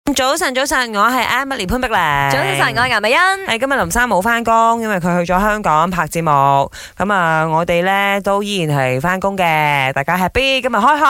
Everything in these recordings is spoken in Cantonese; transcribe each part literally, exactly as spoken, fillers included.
早晨，早晨，我係 Emily 潘碧玲。 早晨，我係顏美欣。 係今日林生冇翻工，因為佢去咗香港拍節目。咁啊，我哋咧都依然係翻工嘅，大家 happy 今日開學。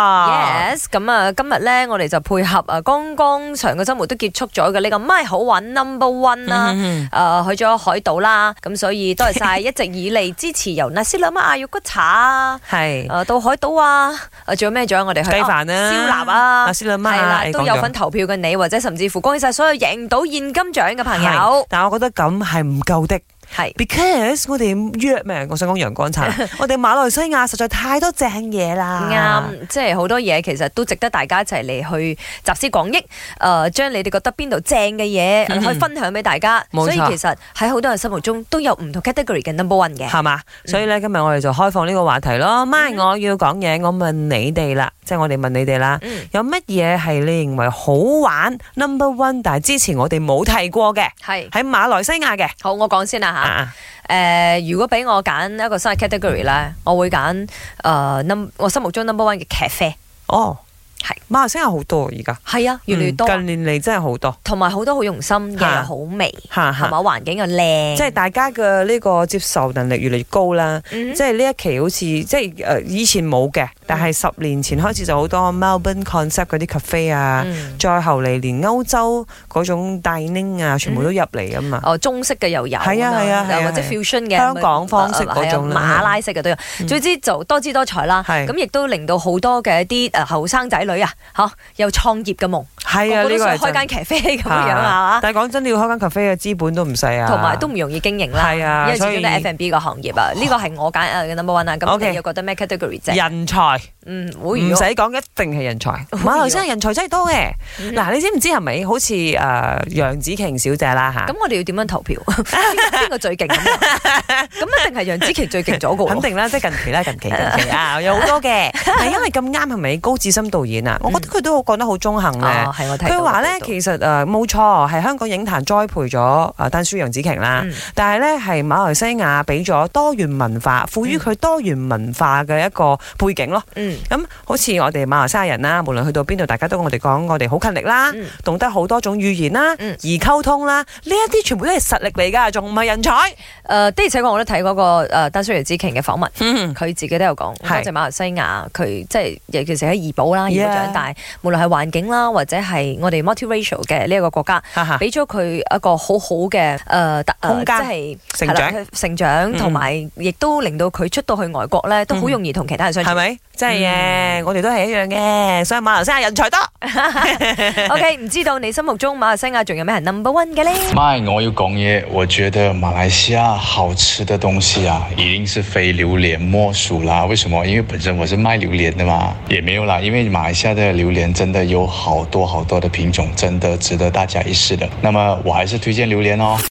Yes，咁啊，今日咧我哋就配合啊，剛剛上個周末都結束咗嘅呢個咪好玩 number one 啦，誒去咗海島啦，咁所以多謝晒一直以嚟支持由 Nasi Lemak 啊、肉骨茶啊，係誒到海島啊，誒仲有咩？仲有我哋去雞飯啊、 燒臘啊、 Nasi Lemak 係啦，都有份投票嘅你，或者甚至乎恭喜晒所有贏到現金獎嘅朋友。 但係我覺得咁係唔夠的。係 ，because 我哋約咩？我想講陽光茶，我哋馬來西亞實在太多正嘢啦。 啱，即係好多嘢其實都值得大家一齊嚟去集思廣益。誒、呃，將你哋覺得邊度正嘅嘢可以分享俾大家。所以其實喺好多人心目中都有唔同 category 嘅 number one 嘅， 係嘛？所以咧今日我哋就開放呢個話題咯。咪、嗯，我要講嘢，我問你哋啦，即係我哋問你哋啦，嗯、有乜嘢係你認為好玩 number one， 但係之前我哋冇提過嘅，係喺馬來西亞嘅。 好，我講先啦吓。誒、啊呃，如果俾我揀一個新嘅 category 咧，我會揀誒 num 我心目中 number one 嘅咖啡。哦，係馬來西亞好多而家， 係啊，越嚟越多。 嗯、近年嚟真係好多， 同埋好多好用心嘅，又好味，係嘛，環境又靚， 即係大家嘅呢個接受能力越嚟越高啦。嗯、即係呢一期好似即係誒、呃、以前冇嘅，但係十年前開始就好多 Melbourne concept 嗰啲 cafe 啊，嗯、再後嚟連歐洲嗰種 dining 啊，全部都入嚟啊嘛。 哦，中式嘅又有， 係啊係啊， 或者 fusion 嘅香港方式嗰種啦， 馬拉式嘅都有。嗯、總之就多姿多彩啦。咁亦都令到好多嘅一啲誒後生仔女啊，嚇有創業嘅夢。係啊，呢個係開間咖啡咁樣啊。但係講真，你要開間咖啡嘅資本都唔細啊，同埋都唔容易經營啦。係啊，因為始終都係 F and B 個行業啊。呢個係我揀嘅 number one 啊。咁你又覺得咩 category 啫？人才，嗯，唔使講，一定係人才。馬來西亞人才真係多嘅。嗱，你知唔知係咪好似誒楊紫瓊小姐啦嚇？咁我哋要點樣投票？邊個最勁咁？咁一定係楊紫瓊最勁咗個。肯定啦，即係近期啦，近期近期啊，有好多嘅。係因為咁啱係咪高志森導演啊？我覺得佢都講得好中肯嘅。佢話咧，其實誒冇錯，係香港影壇栽培咗誒丹書楊紫瓊啦。嗯、但係咧，係馬來西亞俾咗多元文化，賦予佢多元文化嘅一個背景咯。咁、嗯、好似我哋馬來西亞人啦，無論去到邊度，大家都我哋講，我哋好勤力啦，嗯、懂得好多種語言啦，嗯、而溝通啦，呢一啲全部都係實力嚟㗎，仲唔係人才？誒、呃，的而且確我都睇嗰個誒丹書楊紫瓊嘅訪問，佢、嗯、自己都有講，多謝馬來西亞，佢即係尤其是喺怡保啦，怡保長大，無論係環境啦，或者係我哋 multiracial 嘅呢一個國家，俾咗佢一個好好嘅誒空間，即係成長，成長同埋亦都令到佢出到去外國咧，都好容易同其他人相處，係咪？真係嘅，我哋都係一樣嘅，所以馬來西亞人才多。OK， 唔知道你心目中馬來西亞仲有咩係 number one 嘅咧？ 咪我要講嘢，我覺得馬來西亞好吃的東西啊，一定是非榴蓮莫屬啦。為什麼？因為本身我是賣榴蓮的嘛，也沒有啦。因為馬來西亞的榴蓮真的有好多好多的品種，真的值得大家一試的。那麼我還是推薦榴蓮哦。